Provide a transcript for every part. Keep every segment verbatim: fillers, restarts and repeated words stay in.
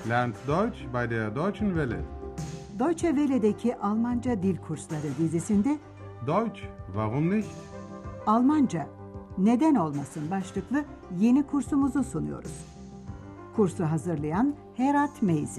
Lernt Deutsch bei der Deutschen Welle. Deutsche Welle'deki Almanca Dil Kursları dizisinde Deutsch, warum nicht? Almanca Neden Olmasın başlıklı yeni kursumuzu sunuyoruz. Kursu hazırlayan Herat Meyzi.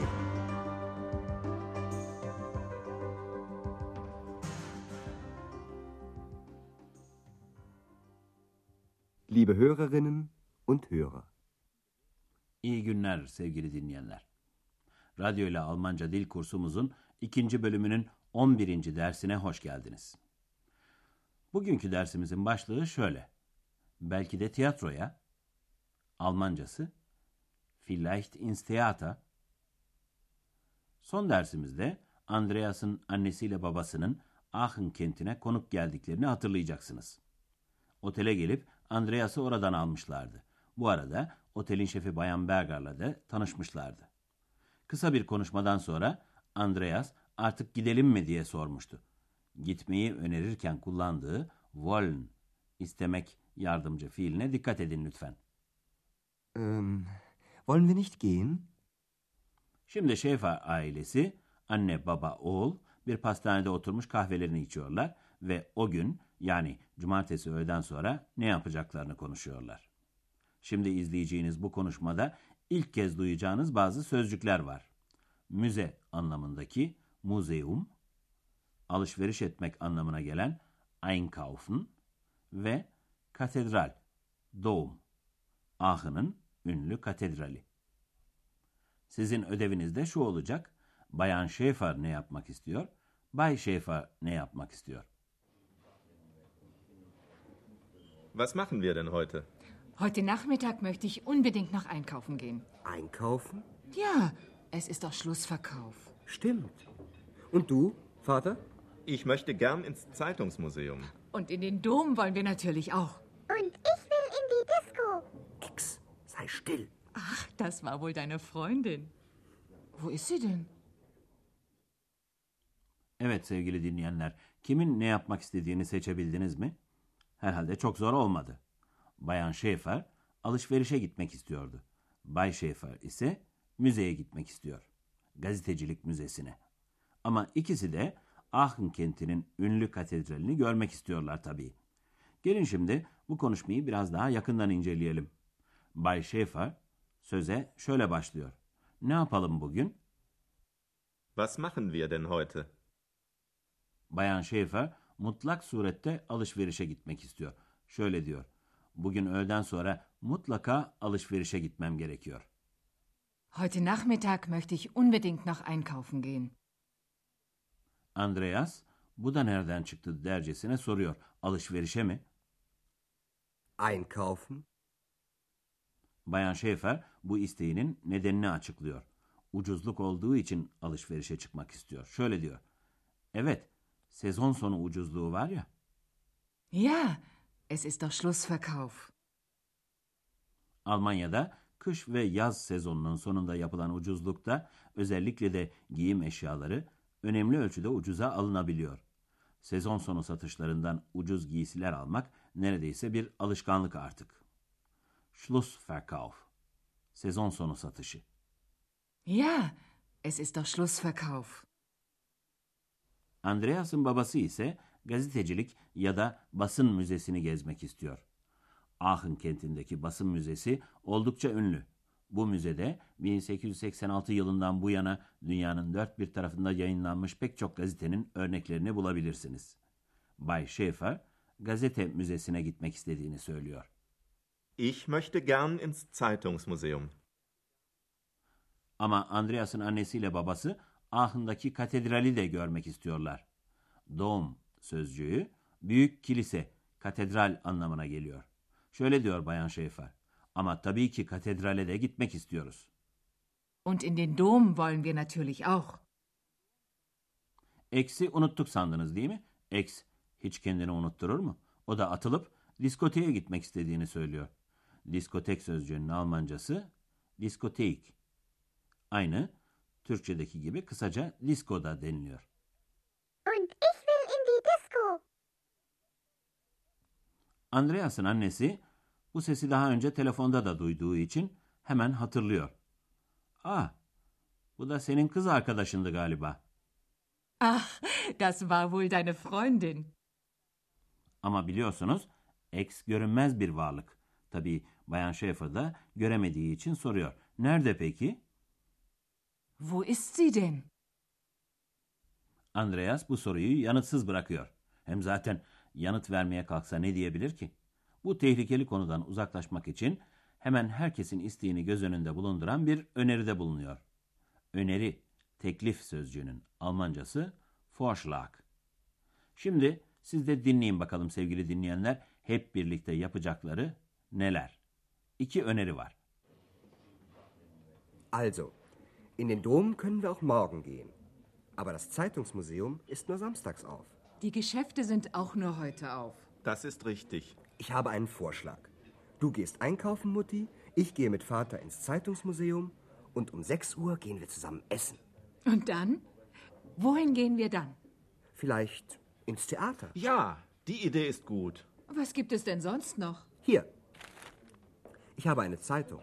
Liebe Hörerinnen und Hörer. İyi günler sevgili dinleyenler. Radyo ile Almanca dil kursumuzun ikinci bölümünün on birinci dersine hoş geldiniz. Bugünkü dersimizin başlığı şöyle. Belki de tiyatroya, Almancası, vielleicht ins Theater. Son dersimizde Andreas'ın annesiyle babasının Aachen kentine konuk geldiklerini hatırlayacaksınız. Otele gelip Andreas'ı oradan almışlardı. Bu arada otelin şefi Bayan Berger'la da tanışmışlardı. Kısa bir konuşmadan sonra Andreas artık gidelim mi diye sormuştu. Gitmeyi önerirken kullandığı wollen, istemek yardımcı fiiline dikkat edin lütfen. Ähm, wollen wir nicht gehen? Şimdi Schäfer ailesi, anne, baba, oğul bir pastanede oturmuş kahvelerini içiyorlar ve o gün yani cumartesi öğleden sonra ne yapacaklarını konuşuyorlar. Şimdi izleyeceğiniz bu konuşmada ilk kez duyacağınız bazı sözcükler var. Müze anlamındaki museum, alışveriş etmek anlamına gelen einkaufen ve katedral, Dom, Aachen'ın ünlü katedrali. Sizin ödeviniz de şu olacak. Bayan Schäfer ne yapmak istiyor? Bay Schäfer ne yapmak istiyor? Was machen wir denn heute? Heute Nachmittag möchte ich unbedingt noch einkaufen gehen. Einkaufen? Ja, es ist doch Schlussverkauf. Stimmt. Und du, Vater? Ich möchte gern ins Zeitungsmuseum. Und in den Dom wollen wir natürlich auch. Und ich will in die Disco. Nix, sei still. Ach, das war wohl deine Freundin. Wo ist sie denn? Evet sevgili dinleyenler, kimin ne yapmak istediğini seçebildiniz mi? Herhalde çok zor olmadı. Bayan Schäfer alışverişe gitmek istiyordu. Bay Schäfer ise müzeye gitmek istiyor. Gazetecilik müzesine. Ama ikisi de Aachen kentinin ünlü katedralini görmek istiyorlar tabii. Gelin şimdi bu konuşmayı biraz daha yakından inceleyelim. Bay Schäfer söze şöyle başlıyor. Ne yapalım bugün? Was machen wir denn heute? Bayan Schäfer mutlak surette alışverişe gitmek istiyor. Şöyle diyor. Bugün öğleden sonra mutlaka alışverişe gitmem gerekiyor. Heute Nachmittag möchte ich unbedingt noch einkaufen gehen. Andreas, bu da nereden çıktı dercesine soruyor. Alışverişe mi? Einkaufen? Bayan Schäfer bu isteğinin nedenini açıklıyor. Ucuzluk olduğu için alışverişe çıkmak istiyor. Şöyle diyor. Evet, sezon sonu ucuzluğu var ya. Ja, es ist doch Schlussverkauf. Almanya'da kış ve yaz sezonunun sonunda yapılan ucuzlukta özellikle de giyim eşyaları önemli ölçüde ucuza alınabiliyor. Sezon sonu satışlarından ucuz giysiler almak neredeyse bir alışkanlık artık. Schlussverkauf, sezon sonu satışı. Ja, es ist doch Schlussverkauf. Andreas'ın babası ise gazetecilik ya da basın müzesini gezmek istiyor. Aachen kentindeki basın müzesi oldukça ünlü. Bu müzede bin sekiz yüz seksen altı yılından bu yana dünyanın dört bir tarafında yayınlanmış pek çok gazetenin örneklerini bulabilirsiniz. Bay Schäfer gazete müzesine gitmek istediğini söylüyor. Ich möchte gern ins Zeitungsmuseum. Ama Andreas'ın annesiyle babası Aachen'daki katedrali de görmek istiyorlar. Dom sözcüğü büyük kilise, katedral anlamına geliyor. Şöyle diyor Bayan Schäfer. Ama tabii ki katedrale de gitmek istiyoruz. Und in den Dom wollen wir natürlich auch. Eksi unuttuk sandınız değil mi? Eks hiç kendini unutturur mu? O da atılıp diskoteye gitmek istediğini söylüyor. Diskotek sözcüğünün Almancası diskotek. Aynı Türkçedeki gibi kısaca disko da deniliyor. Und ich will in die Disco. Andreas'ın annesi bu sesi daha önce telefonda da duyduğu için hemen hatırlıyor. Ah, Bu da senin kız arkadaşındı galiba. Ach, das war wohl deine Freundin. Ama biliyorsunuz ex görünmez bir varlık. Tabii Bayan Schäfer da göremediği için soruyor. Nerede peki? Wo ist sie denn? Andreas bu soruyu yanıtsız bırakıyor. Hem zaten yanıt vermeye kalksa ne diyebilir ki? Bu tehlikeli konudan uzaklaşmak için hemen herkesin isteğini göz önünde bulunduran bir öneride bulunuyor. Öneri, teklif sözcüğünün Almancası Vorschlag. Şimdi siz de dinleyin bakalım sevgili dinleyenler, hep birlikte yapacakları neler? İki öneri var. Also, in den Dom können wir auch morgen gehen. Aber das Zeitungsmuseum ist nur samstags auf. Die Geschäfte sind auch nur heute auf. Das ist richtig. Ich habe einen Vorschlag. Du gehst einkaufen, Mutti, ich gehe mit Vater ins Zeitungsmuseum und um sechs Uhr gehen wir zusammen essen. Und dann? Wohin gehen wir dann? Vielleicht ins Theater. Ja, die Idee ist gut. Was gibt es denn sonst noch? Hier. Ich habe eine Zeitung.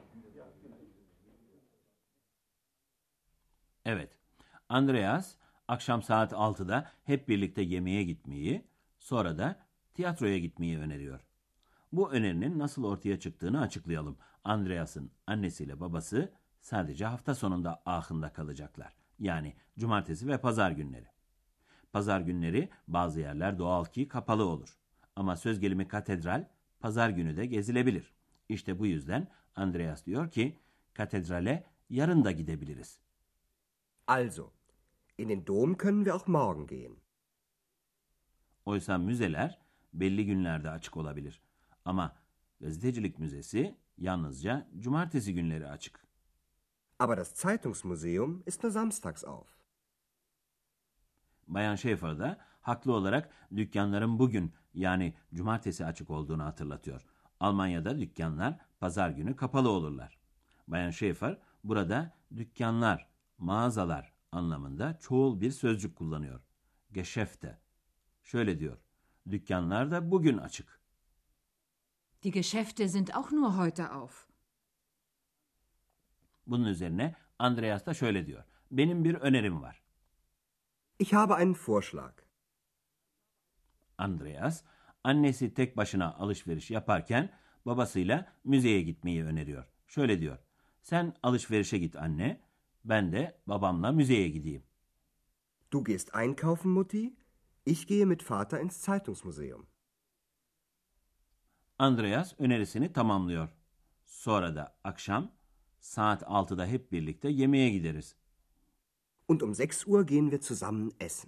Evet, Andreas akşam saat altıda hep birlikte yemeğe gitmeyi, sonra da tiyatroya gitmeyi öneriyor. Bu önerinin nasıl ortaya çıktığını açıklayalım. Andreas'ın annesiyle babası sadece hafta sonunda Aachen'da kalacaklar. Yani cumartesi ve pazar günleri. Pazar günleri bazı yerler doğal ki kapalı olur. Ama söz gelimi katedral pazar günü de gezilebilir. İşte bu yüzden Andreas diyor ki katedrale yarın da gidebiliriz. Also, in den Dom können wir auch morgen gehen. Oysa müzeler belli günlerde açık olabilir. Ama gazetecilik müzesi yalnızca cumartesi günleri açık. Aber das Zeitungsmuseum ist nur samstags auf. Bayan Schäfer da haklı olarak dükkanların bugün yani cumartesi açık olduğunu hatırlatıyor. Almanya'da dükkanlar pazar günü kapalı olurlar. Bayan Schäfer burada dükkanlar, mağazalar anlamında çoğul bir sözcük kullanıyor. Geschäfte. Şöyle diyor. Dükkanlar da bugün açık. Die Geschäfte sind auch nur heute auf. Bunun üzerine Andreas da şöyle diyor. Benim bir önerim var. Ich habe einen Vorschlag. Andreas, annesi tek başına alışveriş yaparken babasıyla müzeye gitmeyi öneriyor. Şöyle diyor. Sen alışverişe git anne, ben de babamla müzeye gideyim. Du gehst einkaufen, Mutti, ich gehe mit Vater ins Zeitungsmuseum. Andreas önerisini tamamlıyor. Sonra da akşam saat altıda hep birlikte yemeğe gideriz. Und um sechs Uhr gehen wir zusammen essen.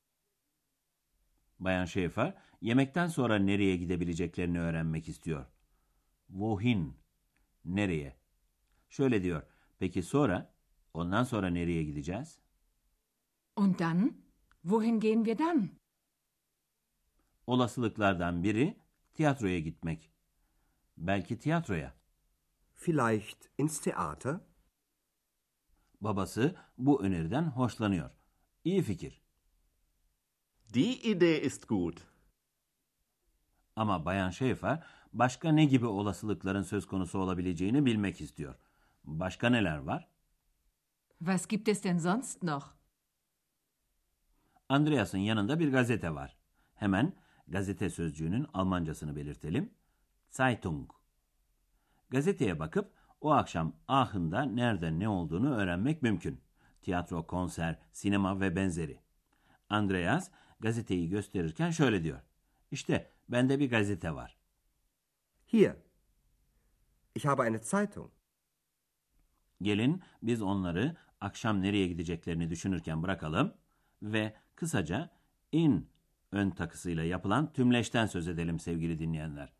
Bayan Schäfer yemekten sonra nereye gidebileceklerini öğrenmek istiyor. Wohin? Nereye? Şöyle diyor. Peki sonra? Ondan sonra nereye gideceğiz? Und dann? Wohin gehen wir dann? Olasılıklardan biri tiyatroya gitmek. Belki tiyatroya. Vielleicht ins Theater? Babası bu öneriden hoşlanıyor. İyi fikir. Die Idee ist gut. Ama Bayan Schäfer başka ne gibi olasılıkların söz konusu olabileceğini bilmek istiyor. Başka neler var? Was gibt es denn sonst noch? Andreas'ın yanında bir gazete var. Hemen gazete sözcüğünün Almancasını belirtelim. Zeitung. Gazeteye bakıp o akşam Aachen'da nerede ne olduğunu öğrenmek mümkün. Tiyatro, konser, sinema ve benzeri. Andreas gazeteyi gösterirken şöyle diyor. İşte bende bir gazete var. Hier. Ich habe eine Zeitung. Gelin biz onları akşam nereye gideceklerini düşünürken bırakalım ve kısaca in ön takısıyla yapılan tümleşten söz edelim sevgili dinleyenler.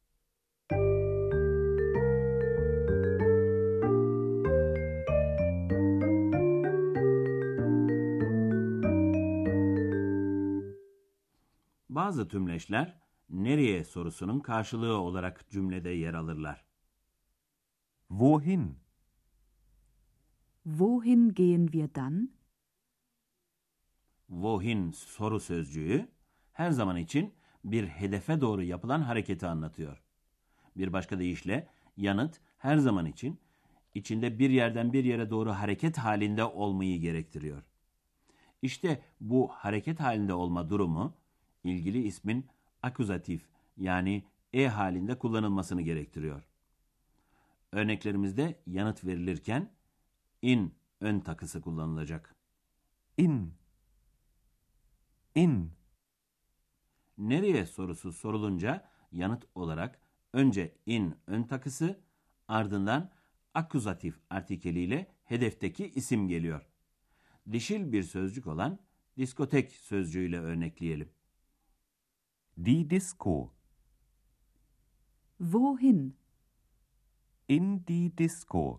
Bazı tümleşler nereye sorusunun karşılığı olarak cümlede yer alırlar. Wohin? Wohin gehen wir dann? Wohin soru sözcüğü her zaman için bir hedefe doğru yapılan hareketi anlatıyor. Bir başka deyişle yanıt her zaman için içinde bir yerden bir yere doğru hareket halinde olmayı gerektiriyor. İşte bu hareket halinde olma durumu, ilgili ismin akuzatif yani e halinde kullanılmasını gerektiriyor. Örneklerimizde yanıt verilirken in ön takısı kullanılacak. In. In. Nereye sorusu sorulunca yanıt olarak önce in ön takısı, ardından akuzatif artikeliyle hedefteki isim geliyor. Dişil bir sözcük olan diskotek sözcüğüyle örnekleyelim. Die Disco. Wohin? In die Disco.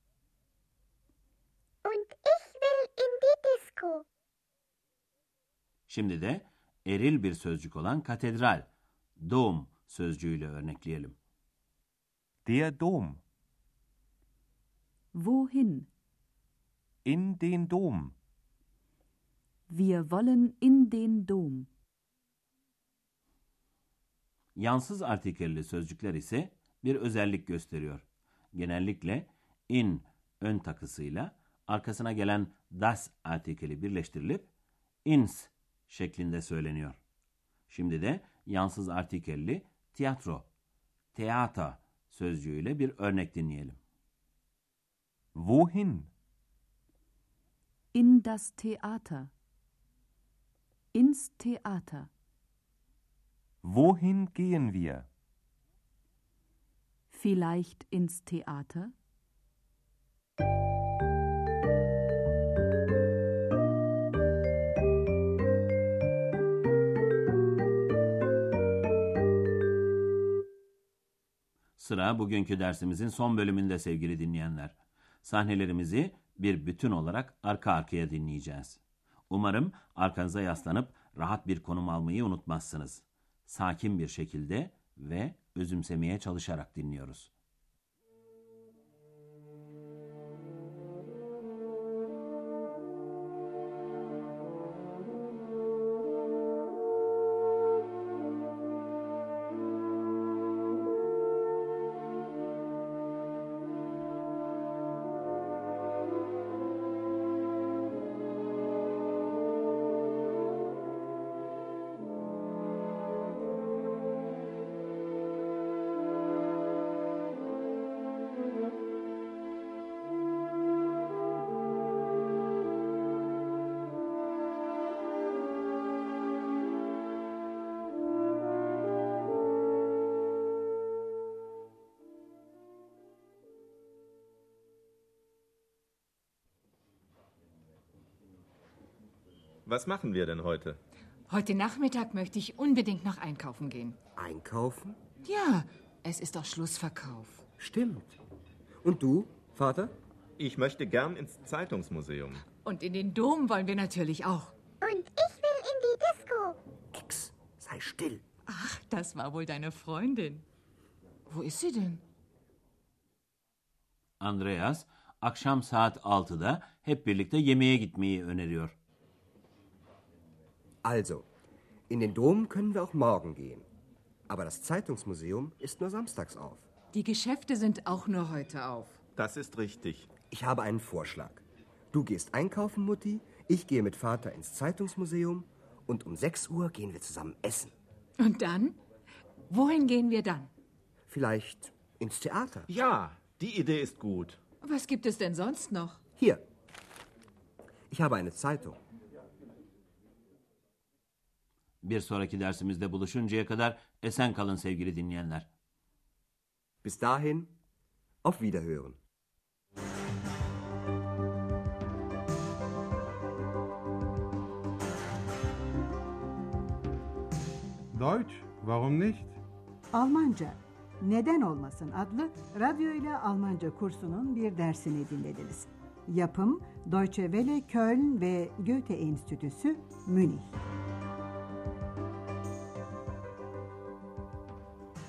Und ich will in die Disco. Şimdi de eril bir sözcük olan katedral, dom sözcüğüyle örnekleyelim. Der Dom. Wohin? In den Dom. Wir wollen in den Dom. Yansız artikelli sözcükler ise bir özellik gösteriyor. Genellikle in ön takısıyla arkasına gelen das artikeli birleştirilip ins şeklinde söyleniyor. Şimdi de yansız artikelli tiyatro, teata sözcüğüyle bir örnek dinleyelim. Wohin? In das Theater. Ins Theater. Wohin gehen wir? Vielleicht ins Theater? Sıra bugünkü dersimizin son bölümünde sevgili dinleyenler. Sahnelerimizi bir bütün olarak arka arkaya dinleyeceğiz. Umarım arkanıza yaslanıp rahat bir konum almayı unutmazsınız. Sakin bir şekilde ve özümsemeye çalışarak dinliyoruz. Was machen wir denn heute? Heute Nachmittag möchte ich unbedingt noch einkaufen gehen. Einkaufen? Ja, es ist doch Schlussverkauf. Stimmt. Und du, Vater? Ich möchte gern ins Zeitungsmuseum. Und in den Dom wollen wir natürlich auch. Und ich will in die Disco. Nix. Sei still. Ach, das war wohl deine Freundin. Wo ist sie denn? Andreas, akşam saat altıda hep birlikte yemeğe gitmeyi öneriyor. Also, in den Dom können wir auch morgen gehen. Aber das Zeitungsmuseum ist nur samstags auf. Die Geschäfte sind auch nur heute auf. Das ist richtig. Ich habe einen Vorschlag. Du gehst einkaufen, Mutti, ich gehe mit Vater ins Zeitungsmuseum und um sechs Uhr gehen wir zusammen essen. Und dann? Wohin gehen wir dann? Vielleicht ins Theater. Ja, die Idee ist gut. Was gibt es denn sonst noch? Hier. Ich habe eine Zeitung. Bir sonraki dersimizde buluşuncaya kadar esen kalın sevgili dinleyenler. Bis dahin, auf Wiederhören. Deutsch, warum nicht? Almanca Neden Olmasın adlı radyo ile Almanca kursunun bir dersini dinlediniz. Yapım Deutsche Welle Köln ve Goethe Enstitüsü Münih.